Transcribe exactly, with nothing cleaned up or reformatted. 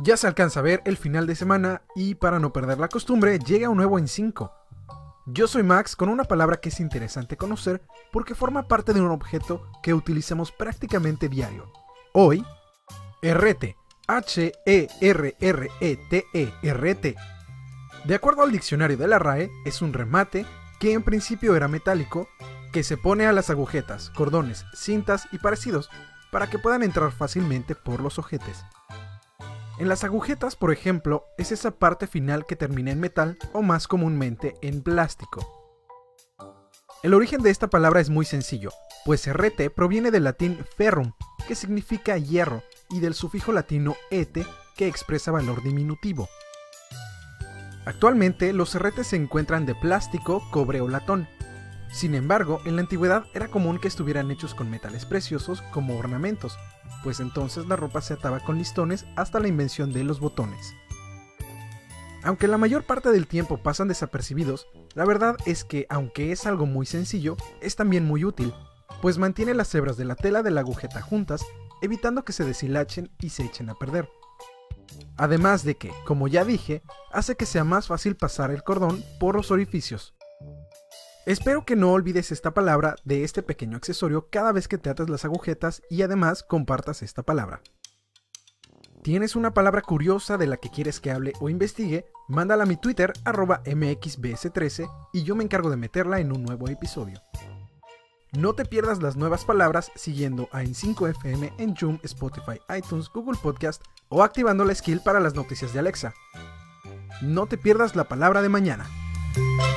Ya se alcanza a ver el final de semana y para no perder la costumbre llega un nuevo en cinco. Yo soy Max con una palabra que es interesante conocer porque forma parte de un objeto que utilizamos prácticamente diario. Hoy, herrete, H E R R E T E, herrete. De acuerdo al diccionario de la R A E, es un remate que en principio era metálico, que se pone a las agujetas, cordones, cintas y parecidos para que puedan entrar fácilmente por los ojetes. En las agujetas, por ejemplo, es esa parte final que termina en metal o más comúnmente en plástico. El origen de esta palabra es muy sencillo, pues herrete proviene del latín ferrum, que significa hierro, y del sufijo latino ete, que expresa valor diminutivo. Actualmente, los herretes se encuentran de plástico, cobre o latón. Sin embargo, en la antigüedad era común que estuvieran hechos con metales preciosos como ornamentos, pues entonces la ropa se ataba con listones hasta la invención de los botones. Aunque la mayor parte del tiempo pasan desapercibidos, la verdad es que, aunque es algo muy sencillo, es también muy útil, pues mantiene las hebras de la tela de la agujeta juntas, evitando que se deshilachen y se echen a perder. Además de que, como ya dije, hace que sea más fácil pasar el cordón por los orificios. Espero que no olvides esta palabra de este pequeño accesorio cada vez que te atas las agujetas y además compartas esta palabra. ¿Tienes una palabra curiosa de la que quieres que hable o investigue? Mándala a mi Twitter, arroba M X B S trece, y yo me encargo de meterla en un nuevo episodio. No te pierdas las nuevas palabras siguiendo a En cinco F M en Joom, Spotify, iTunes, Google Podcast o activando la skill para las noticias de Alexa. No te pierdas la palabra de mañana.